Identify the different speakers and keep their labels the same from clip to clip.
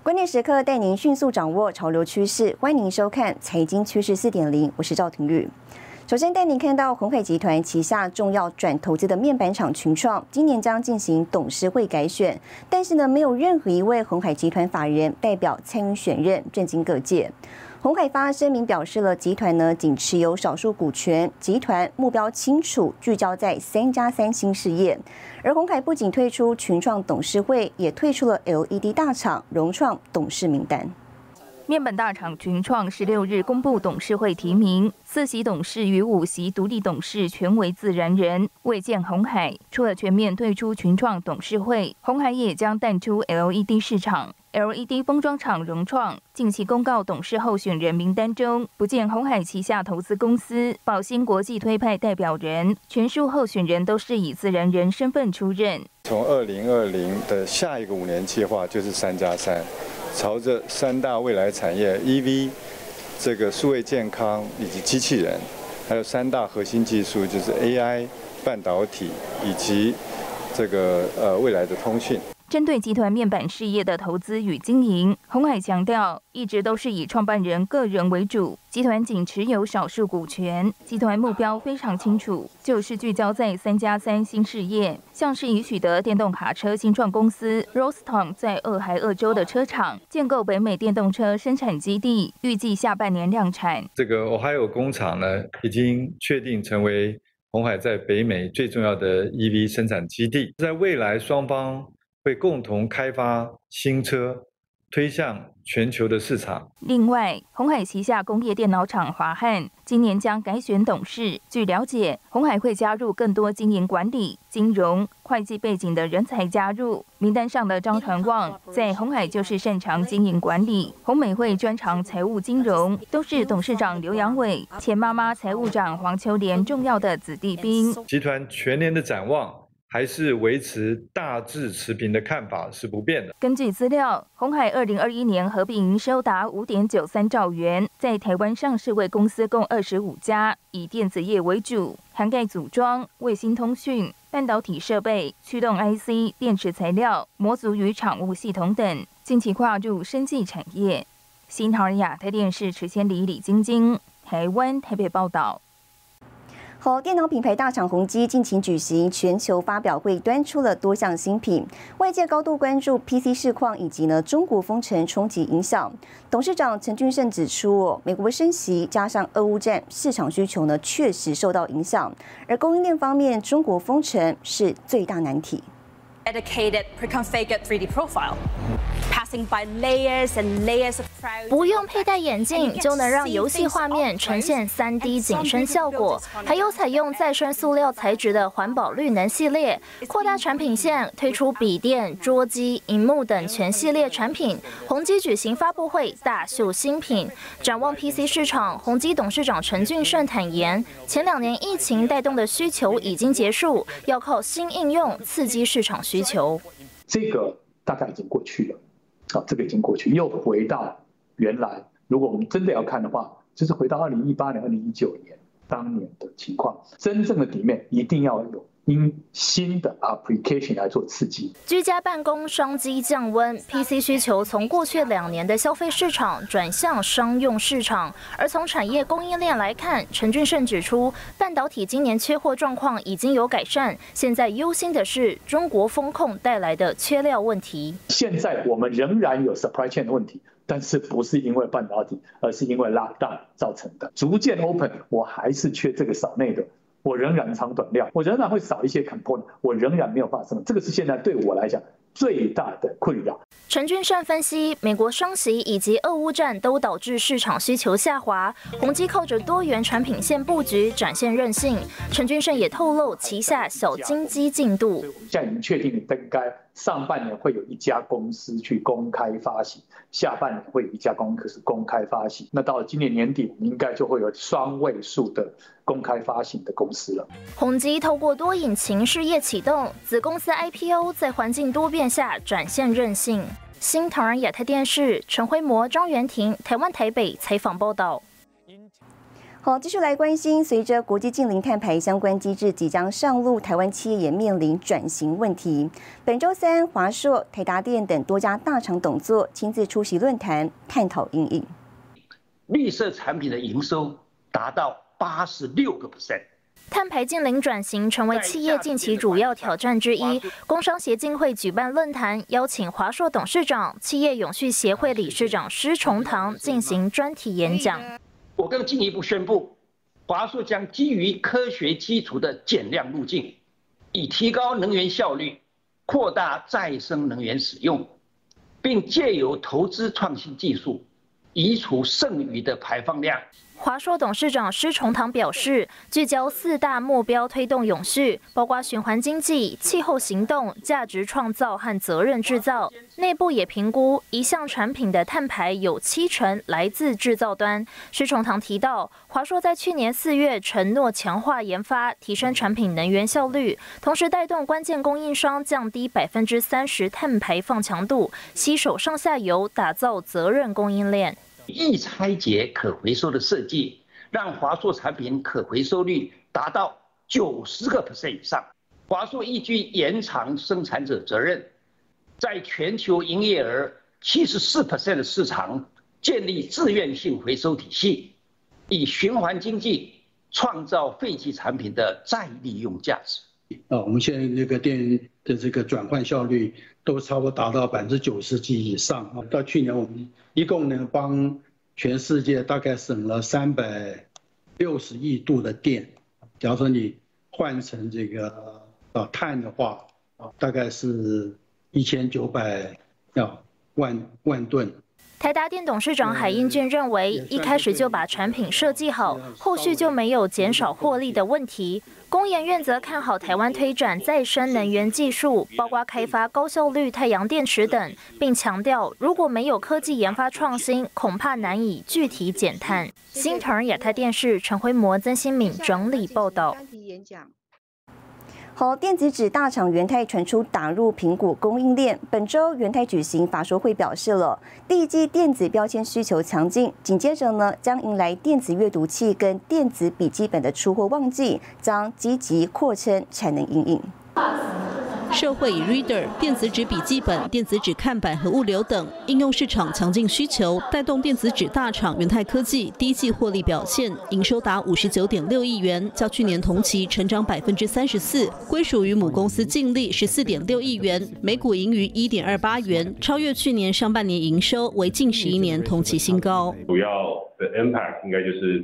Speaker 1: 关键时刻带您迅速掌握潮流趋势，欢迎您收看《财经趋势4.0》，我是赵廷玉。首先带您看到鸿海集团旗下重要转投资的面板厂群创，今年将进行董事会改选，但是呢，没有任何一位鸿海集团法人代表参与选任，震惊各界。鸿海发声明表示了，集团呢仅持有少数股权，集团目标清楚，聚焦在3+3新事业。而鸿海不仅退出群创董事会，也退出了 LED 大厂荣创董事名单。
Speaker 2: 面板大厂群创16日公布董事会提名，4席董事与5席独立董事全为自然人。未见鸿海除了全面退出群创董事会，鸿海也将淡出 LED 市场。LED 封装厂荣创近期公告董事候选人名单中，不见鸿海旗下投资公司宝兴国际推派代表人，全数候选人都是以自然人身份出任。
Speaker 3: 从2020的下一个5年计划就是3+3。朝着3大未来产业 EV、这个数位健康以及机器人，还有3大核心技术，就是 AI、半导体以及这个未来的通讯。
Speaker 2: 针对集团面板事业的投资与经营，鸿海强调，一直都是以创办人个人为主，集团仅持有少数股权。集团目标非常清楚，就是聚焦在3+3新事业，像是已取得电动卡车新创公司 Roston 在俄亥俄州的车厂，建构北美电动车生产基地，预计下半年量产。
Speaker 3: 这个俄亥俄工厂呢，已经确定成为鸿海在北美最重要的 EV 生产基地，在未来双方会共同开发新车，推向全球的市场。
Speaker 2: 另外，鸿海旗下工业电脑厂华汉今年将改选董事。据了解，鸿海会加入更多经营管理、金融、会计背景的人才加入。名单上的张传旺在鸿海就是擅长经营管理，鸿美会专长财务金融，都是董事长刘扬伟、前妈妈财务长黄秋莲重要的子弟兵。
Speaker 3: 集团全年的展望还是维持大致持平的看法是不变的。
Speaker 2: 根据资料，鸿海2021年合并营收达5.93兆元，在台湾上市柜公司共25家，以电子业为主，涵盖组装、卫星通讯、半导体设备、驱动 IC、电池材料、模组与厂务系统等，近期跨入生技产业。新唐人亚太电视池千里、李晶晶，台湾台北报道。
Speaker 1: 好，电脑品牌大厂宏基近期举行全球发表会，端出了多项新品，外界高度关注 PC 市况以及中国封城冲击影响。董事长陈俊胜指出，美国升息加上俄乌战，市场需求确实受到影响，而供应链方面，中国封城是最大难题。
Speaker 4: Dedicated pre-configured 3D profile. Passing by layers and layers of crowd.
Speaker 5: 不用佩戴眼镜就能让游戏画面呈现3D 景深效果，还有采用再生塑料材质的环保绿能系列，扩大产品线，推出笔电、桌机、荧幕等全系列产品。宏基举行发布会，大秀新品。展望 PC 市场，宏基董事长陈俊胜坦言，前2年疫情带动的需求已经结束，要靠新应用刺激市场需求。
Speaker 6: 这个大概已经过去了。这个已经过去，又回到原来。如果我们真的要看的话，就是回到2018年、2019年当年的情况。真正的底面一定要有因新的 application 来做刺激。
Speaker 5: 居家办公商机降温 ，PC 需求从过去2年的消费市场转向商用市场。而从产业供应链来看，陈俊胜指出，半导体今年缺货状况已经有改善，现在忧心的是中国风控带来的缺料问题。
Speaker 6: 现在我们仍然有 supply chain 的问题。但是不是因为半导体，而是因为 lockdown 造成的。逐渐 open， 我还是缺这个少内的，我仍然长短料，我仍然会少一些 component， 我仍然没有办法生产。这个是现在对我来讲最大的困扰。
Speaker 5: 陈俊胜分析，美国升息以及俄乌战都导致市场需求下滑，宏基靠着多元产品线布局展现韧性。陈俊胜也透露旗下小金鸡进度，
Speaker 6: 现在已经确定应该上半年会有1家公司去公开发行，下半年会有1家公司公开发行。那到了今年年底，我们应该就会有双位数的公开发行的公司了。
Speaker 5: 宏基透过多引擎事业启动，子公司 IPO 在环境多变下展现韧性。新唐人亚太电视陈辉模、张元婷，台湾台北采访报道。
Speaker 1: 好，继续来关心，随着国际净零碳排相关机制即将上路，台湾企业也面临转型问题。本周三，华硕、台达电等多家大厂董座亲自出席论坛，探讨因应。
Speaker 7: 绿色产品的营收达到86%。
Speaker 5: 碳排净零转型成为企业近期主要挑战之一。工商协进会举办论坛，邀请华硕董事长、企业永续协会理事长施崇棠进行专题演讲。
Speaker 7: 我更进一步宣布，华硕将基于科学基础的减量路径，以提高能源效率，扩大再生能源使用，并借由投资创新技术，移除剩余的排放量。
Speaker 5: 华硕董事长施崇棠表示，聚焦4大目标推动永续，包括循环经济、气候行动、价值创造和责任制造。内部也评估一项产品的碳排有70%来自制造端。施崇棠提到，华硕在去年4月承诺强化研发，提升产品能源效率，同时带动关键供应商降低30%碳排放强度，携手上下游，打造责任供应链。
Speaker 7: 易拆解可回收的设计，让华硕产品可回收率达到90%以上。华硕依据延长生产者责任，在全球营业额74%的市场建立自愿性回收体系，以循环经济创造废弃产品的再利用价值。
Speaker 8: 我们现在这个电的这个转换效率都差不多达到90%几以上啊。到去年我们一共呢帮全世界大概省了360亿度的电。假如说你换成这个碳的话，大概是1900万吨。
Speaker 5: 台达电董事长海英俊认为，一开始就把产品设计好，后续就没有减少获利的问题。工研院则看好台湾推展再生能源技术，包括开发高效率太阳电池等，并强调如果没有科技研发创新，恐怕难以具体减碳。新唐人亚太电视陈辉模、曾新敏整理报道。
Speaker 1: 好，电子纸大厂元太传出打入苹果供应链。本周元太举行法说会，表示了第一季电子标签需求强劲，紧接着呢将迎来电子阅读器跟电子笔记本的出货旺季，将积极扩称产能因应。
Speaker 9: 社会以 Reader、电子纸笔记本、电子纸看板和物流等应用市场强劲需求，带动电子纸大厂元太科技第一季获利表现，营收达59.6亿元，较去年同期成长34%，归属于母公司净利14.6亿元，每股盈余1.28元，超越去年上半年营收，为近11年同期新高。
Speaker 10: 主要的 impact 应该就是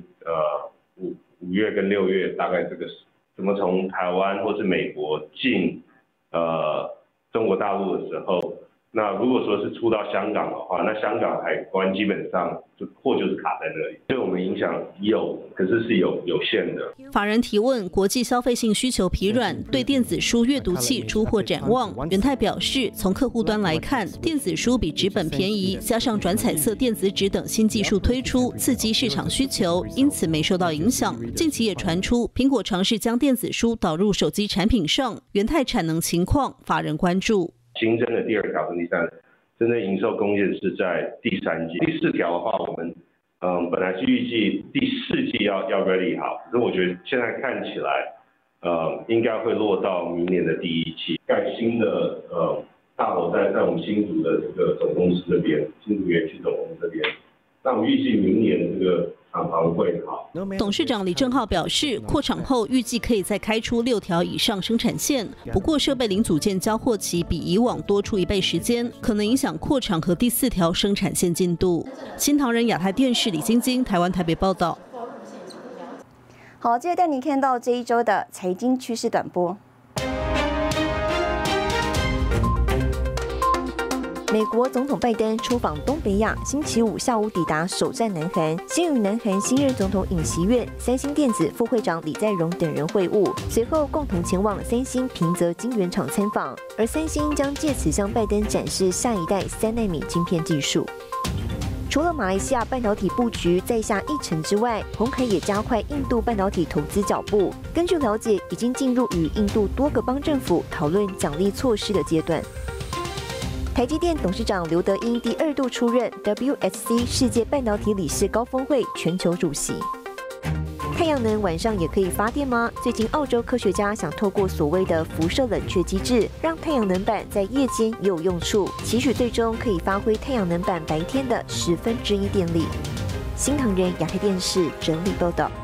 Speaker 10: 5月跟6月，大概这个怎么从台湾或是美国进中国大陆的时候，那如果说是出到香港的话，那香港海关基本上货就是卡在那里，对我们影响有，可是是有限的。
Speaker 9: 法人提问：国际消费性需求疲软，对电子书阅读器出货展望。元太表示，从客户端来看，电子书比纸本便宜，加上转彩色电子纸等新技术推出，刺激市场需求，因此没受到影响。近期也传出苹果尝试将电子书导入手机产品上，元太产能情况，法人关注。
Speaker 10: 新增的第2条跟第3，真正营收贡献是在第3季。第4条的话，我们本来是预计第4季要 ready 好，可是我觉得现在看起来，应该会落到明年的第1季。盖新的大楼在我们新竹的这个总公司这边，新竹园区总公司这边，那我们预计明年这个厂房会好。
Speaker 9: 董事长李正浩表示，扩厂后预计可以再开出6条以上生产线，不过设备零组件交货期比以往多出1倍时间，可能影响扩厂和第4条生产线进度。新唐人亚太电视李晶晶台湾台北报道。
Speaker 1: 好，接着带您看到这一周的财经趋势短波。美国总统拜登出访东北亚，星期5下午抵达首站南韩，先与南韩新任总统尹锡悦、三星电子副会长李在镕等人会晤，随后共同前往三星平泽晶圆厂参访，而三星将借此向拜登展示下一代3奈米晶片技术。除了马来西亚半导体布局再下一城之外，鸿海也加快印度半导体投资脚步。根据了解，已经进入与印度多个邦政府讨论奖励措施的阶段。台积电董事长刘德英第2度出任 WSC 世界半导体理事高峰会全球主席。
Speaker 11: 太阳能晚上也可以发电吗？最近澳洲科学家想透过所谓的辐射冷却机制，让太阳能板在夜间也有用处，期许最终可以发挥太阳能板白天的1/10电力。新唐人亚太电视整理报道。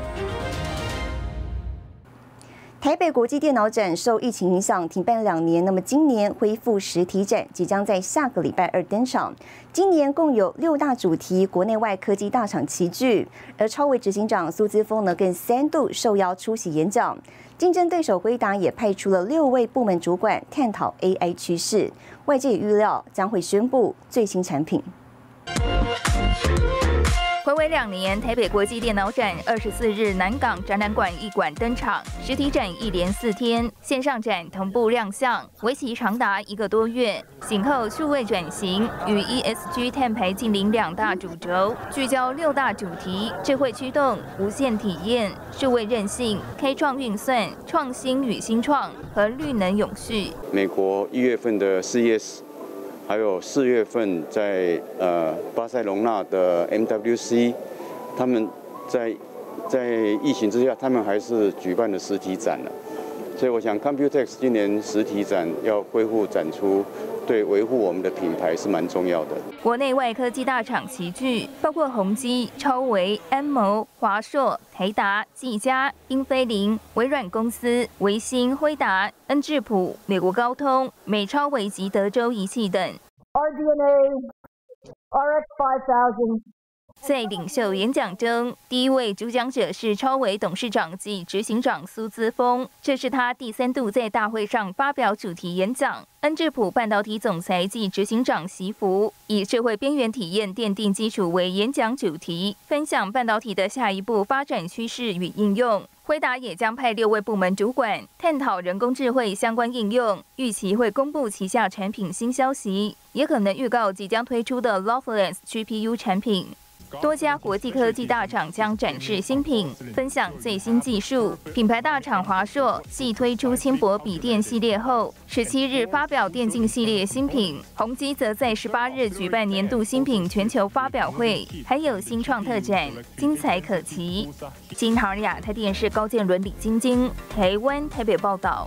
Speaker 1: 台北国际电脑展受疫情影响停办2年，那么今年恢复实体展，即将在下个礼拜2登场。今年共有6大主题，国内外科技大厂齐聚，而超微执行长苏姿丰呢更3度受邀出席演讲。竞争对手辉达也派出了6位部门主管探讨 AI 趋势，外界也预料将会宣布最新产品。
Speaker 2: 睽违2年，台北国际电脑展24日南港展览馆一馆登场，实体展一连4天，线上展同步亮相，为期长达1个多月。醒后数位转型与 ESG 碳排净零2大主轴，聚焦6大主题：智慧驱动、无线体验、数位韧性、开创运算、创新与新创和绿能永续。
Speaker 12: 美国1月份的CES。还有4月份在巴塞隆纳的 MWC， 他们在疫情之下，他们还是举办了实体展了。所以我想 Computex 今年实体展要恢复展出，对维护我们的品牌是蛮重要的。
Speaker 2: 国内外科技大厂齐聚，包括宏基、超微、安谋、华硕、台达、技嘉、英飞凌、微软公司、微星、辉达、恩智浦、美国高通、美超微及德州仪器等。
Speaker 13: RDNA RX5000。
Speaker 2: 在领袖演讲中，第一位主讲者是超微董事长及执行长苏姿丰，这是他第3度在大会上发表主题演讲。恩智浦半导体总裁及执行长习福以社会边缘体验奠定基础为演讲主题，分享半导体的下一步发展趋势与应用。辉达也将派6位部门主管探讨人工智慧相关应用，预期会公布旗下产品新消息，也可能预告即将推出的 Lovelace GPU 产品。多家国际科技大厂将展示新品，分享最新技术。品牌大厂华硕继推出轻薄笔电系列后，17日发表电竞系列新品。宏基则在18日举办年度新品全球发表会，还有新创特展，精彩可期。新唐人亚太电视高建伦、李晶晶，台湾台北报道。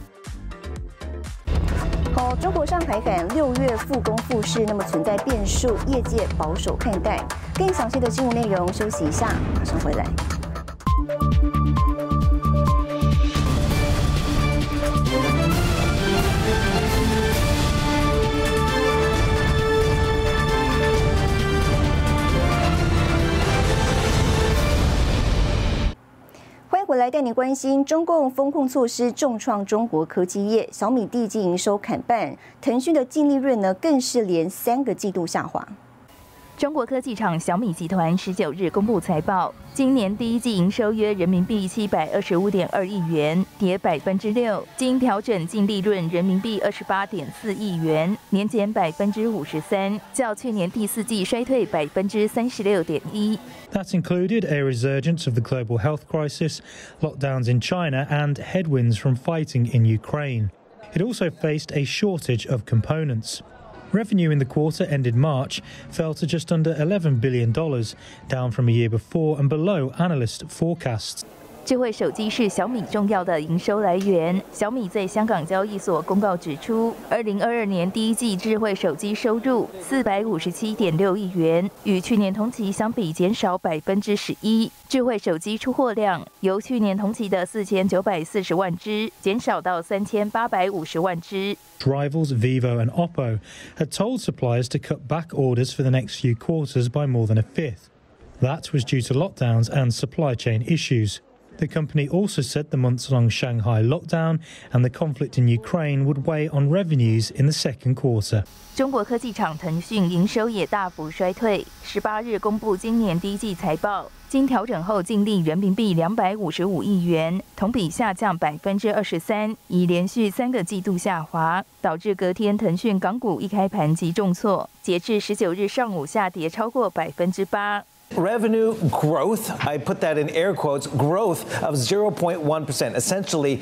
Speaker 1: 中国上海港6月复工复市，那么存在变数，业界保守看待。更详细的新闻内容，休息一下，马上回来。回来带你关心，中共风控措施重创中国科技业，小米第一季营收砍半，腾讯的净利润呢更是连3个季度下滑。
Speaker 2: 中国科技厂小米集团19日公布财报，今年第一季营收约人民币725.2亿元，跌6%，经调整净利润人民币28.4亿元，年减53%，较去年第4季衰退36.1%。
Speaker 14: That included a resurgence of the global health crisis, lockdowns in China, and headwinds from fighting in Ukraine. It also faced a shortage of components. Revenue in the quarter ended March fell to just under $11 billion, down from a year before and below analyst forecasts.
Speaker 2: 智慧手机是小米重要的营收来源。小米在香港交易所公告指出，2022年第一季智慧手机收入457.6亿元，与去年同期相比减少11%。智慧手机出货量由去年同期的4940万只减少到3850万只。
Speaker 14: Rivals Vivo and Oppo had told suppliers to cut back orders for the next few quarters by more than a fifth. That was due to lockdowns and supply chain issues. The company also said the months-long Shanghai lockdown and the conflict in Ukraine would weigh on revenues in the second quarter.
Speaker 2: 中国科技厂腾讯营收也大幅衰退，18日公布今年第一季财报，经调整后净利人民币255亿元，同比下降23%，已连续3个季度下滑，导致隔天腾讯港股一开盘即重挫，截至19日上午下跌超过8%。
Speaker 15: Revenue growth, I put that in air quotes, growth of 0.1%, essentially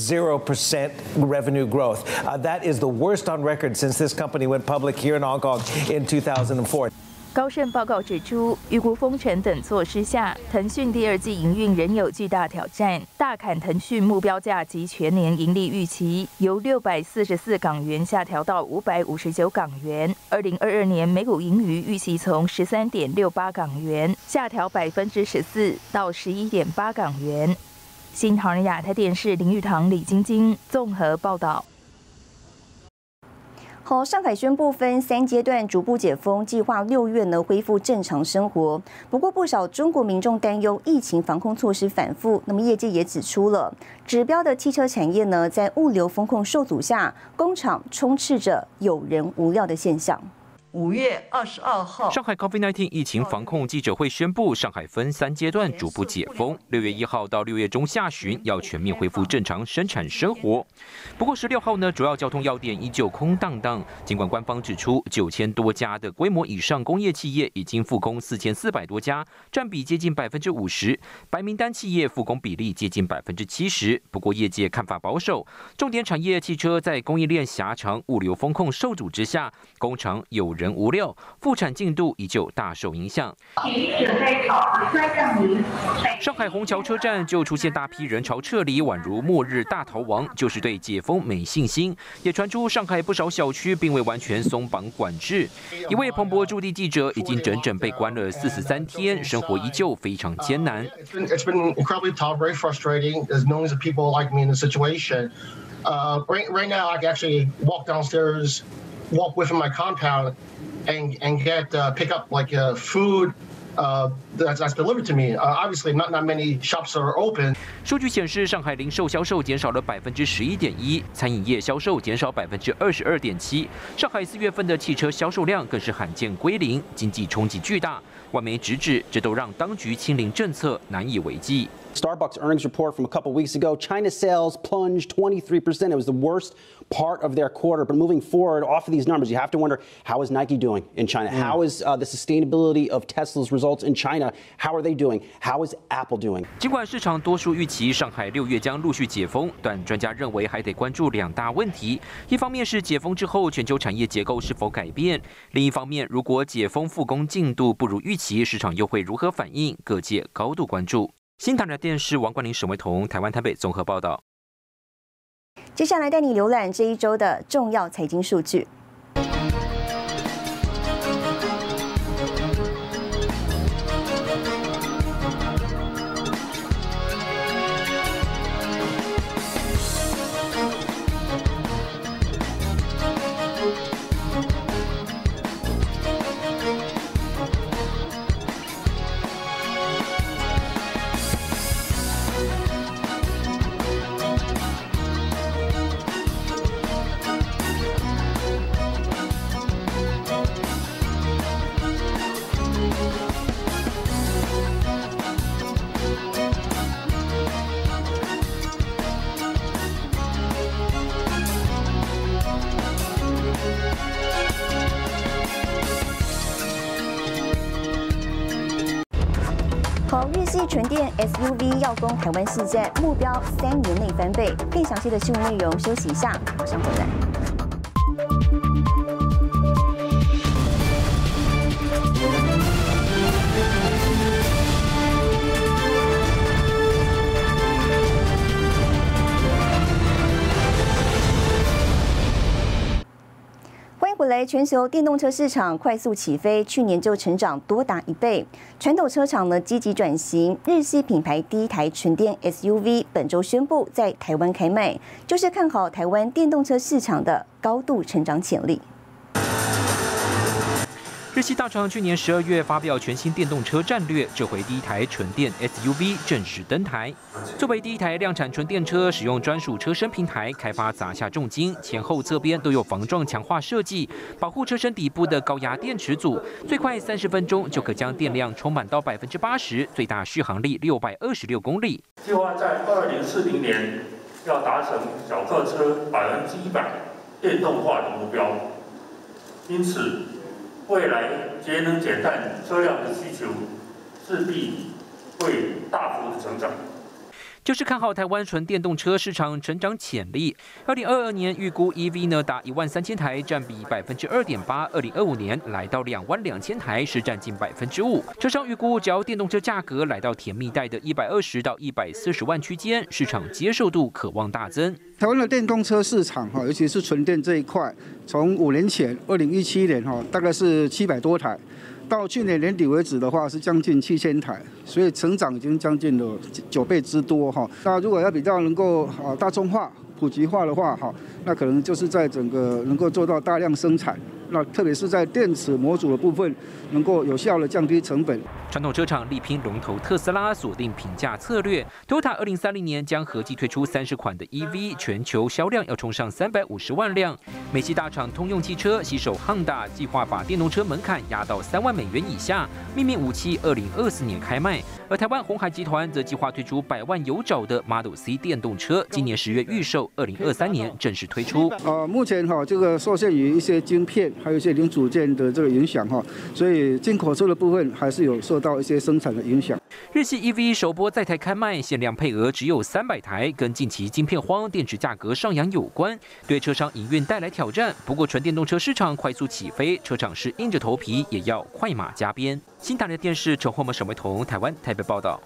Speaker 15: 0% revenue growth. That is the worst on record since this company went public here in Hong Kong in 2004.
Speaker 2: 高盛报告指出，预估封城等措施下，腾讯第二季营运仍有巨大挑战，大砍腾讯目标价及全年盈利预期，由644港元下调到559港元。2022年每股盈余预期从13.68港元下调14%到11.8港元。新唐人亚太电视林玉堂、李晶晶综合报道。
Speaker 1: 好，上海宣布分3阶段逐步解封，计划6月呢恢复正常生活。不过，不少中国民众担忧疫情防控措施反复。那么，业界也指出了，指标的汽车产业呢，在物流风控受阻下，工厂充斥着有人无料的现象。
Speaker 13: 5月22号，
Speaker 16: 上海 COVID-19 疫情防控记者会宣布，上海分3阶段逐步解封，6月1号到6月中下旬要全面恢复正常生产生活。不过16号呢，主要交通要点依旧空荡荡。尽管官方指出，9000多家的规模以上工业企业已经复工4400多家，占比接近50%，白名单企业复工比例接近70%。不过业界看法保守，重点产业汽车在供应链狭长、物流风控受阻之下，工厂有人无料，复产进度依旧大受影响。上海虹桥车站就出现大批人潮撤离，宛如末日大逃亡，就是对解封没信心。也传出上海不少小区并未完全松绑管制。一位彭博驻地记者已经整整被关了43天，生活依旧非常艰难。
Speaker 17: It's been incredibly tough, very frustrating. There's millions of people like me in the situation. Right now, I can actually walk downstairs, walk within my compound, and get pick up like food. That's delivered to me. Obviously, not many shops are open.
Speaker 16: 数据显示，上海零售销售减少了11.1%，餐饮业销售减少22.7%。上海4月份的汽车销售量更是罕见归零，经济冲击巨大。外媒直指，这都让当局清零政策难以为继。
Speaker 18: Starbucks earnings report from a couple weeks ago, China's sales plunged 23%. It was the worst part of their quarter. But moving forward, off of these numbers, you have to wonder, how is Nike doing in China? How is the sustainability of Tesla's results in China? How are they doing? How is Apple doing?
Speaker 16: 尽管市场多数预期上海6月将陆续解封，但专家认为还得关注2大问题。一方面是解封之后全球产业结构是否改变，另一方面如果解封复工进度不如预期，市场又会如何反应？各界高度关注。新唐人电视王冠霖、沈维彤，台湾台北综合报道。
Speaker 1: 接下来带你浏览这一周的重要财经数据。好，日系纯电 SUV 要攻台湾市站，目标3年内翻倍。更详细的新闻内容，休息一下，马上回来。回来，全球电动车市场快速起飞，去年就成长多达1倍。传统车厂呢积极转型，日系品牌第一台纯电 SUV 本周宣布在台湾开卖，就是看好台湾电动车市场的高度成长潜力。
Speaker 16: 日系大厂去年12月发表全新电动车战略，这回第一台纯电 SUV 正式登台。作为第一台量产纯电车，使用专属车身平台开发砸下重金，前后侧边都有防撞强化设计，保护车身底部的高压电池组，最快30分钟就可将电量充满到80%，最大续航力626公里。
Speaker 19: 计划在2040年要达成小客车100%电动化的目标，因此，未来节能减碳车辆的需求势必会大幅的成长。
Speaker 16: 就是看好台湾纯电动车市场成长潜力。2022年预估 EV 呢达13000台，占比2.8%；2025年来到22000台，是占近5%。车商预估，只要电动车价格来到甜蜜带的120到140万区间，市场接受度可望大增。
Speaker 20: 台湾的电动车市场尤其是纯电这一块，从5年前2017年大概是700多台。到去年年底为止的话，是将近7000台，所以成长已经将近了9倍之多哈。那如果要比较能够大众化、普及化的话那可能就是在整个能够做到大量生产。那特别是在电池模组的部分，能够有效的降低成本。
Speaker 16: 传统车厂力拼龙头特斯拉，锁定平价策略。Toyota 2030年将合计推出30款的 EV， 全球销量要冲上350万辆。美系大厂通用汽车携手 Honda， 计划把电动车门槛压到3万美元以下，秘密武器2024年开卖。而台湾鸿海集团则计划推出100万有找的 Model C 电动车，今年10月预售，2023年正式推出。
Speaker 20: 目前这个受限于一些晶片，还有一些零组件的这个影响所以进口车的部分还是有受到一些生产的影响。
Speaker 16: 日系 EV 首波在台开卖，限量配额只有300台，跟近期晶片荒、电池价格上扬有关，对车商营运带来挑战。不过纯电动车市场快速起飞，车厂是硬着头皮也要快马加鞭。新唐人电视陈慧文、沈维彤，台湾台北报道。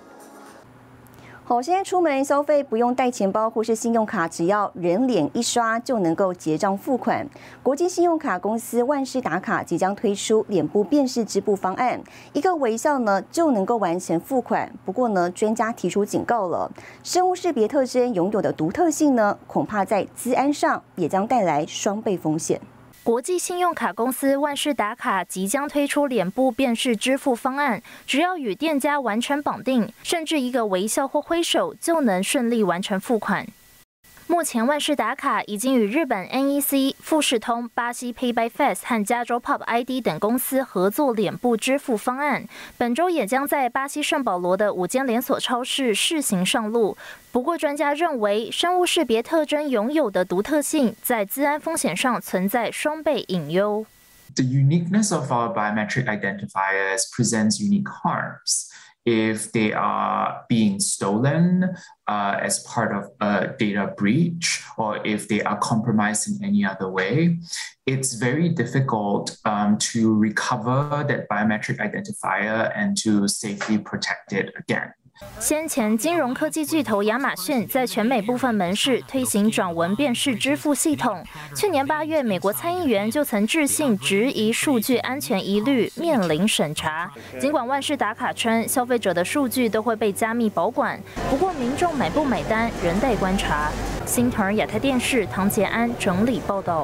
Speaker 1: 好，现在出门消费不用带钱包或是信用卡，只要人脸一刷就能够结账付款。国际信用卡公司万事达卡即将推出脸部辨识支付方案，一个微笑呢就能够完成付款。不过呢，专家提出警告了，生物识别特征拥有的独特性呢，恐怕在资安上也将带来双倍风险。
Speaker 5: 国际信用卡公司万事达卡即将推出脸部辨识支付方案，只要与店家完全绑定，甚至一个微笑或挥手就能顺利完成付款。目前万事达卡已经与日本 NEC、富士通、巴西 Pay by Face 和加州 Pop ID 等公司合作脸部支付方案，本周也将在巴西圣保罗的5间连锁超市试行上路。不过，专家认为，生物识别特征拥有的独特性在资安风险上存在双倍隐忧。
Speaker 21: The uniqueness of our biometric identifiers presents unique harms. If they are being stolen as part of a data breach, or if they are compromised in any other way, it's very difficult to recover that biometric identifier and to safely protect it again.
Speaker 5: 先前，金融科技巨头亚马逊在全美部分门市推行转文辨识支付系统。去年8月，美国参议员就曾致信质疑数据安全疑虑，面临审查。尽管万事达卡称消费者的数据都会被加密保管，不过民众买不买单仍待观察。新唐人亚太电视唐杰安整理报道。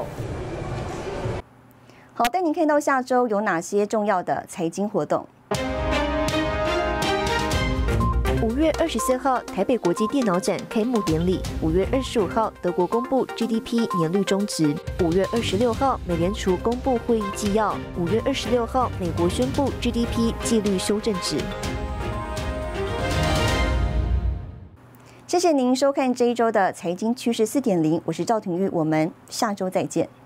Speaker 1: 好，带您看到下周有哪些重要的财经活动。
Speaker 11: 5月24号，台北国际电脑展开幕典礼。5月25号，德国公布 GDP 年率中值。5月26号，美联储公布会议纪要。5月26号，美国宣布 GDP 季率修正值。
Speaker 1: 谢谢您收看这一周的财经趋势4.0，我是赵廷玉，我们下周再见。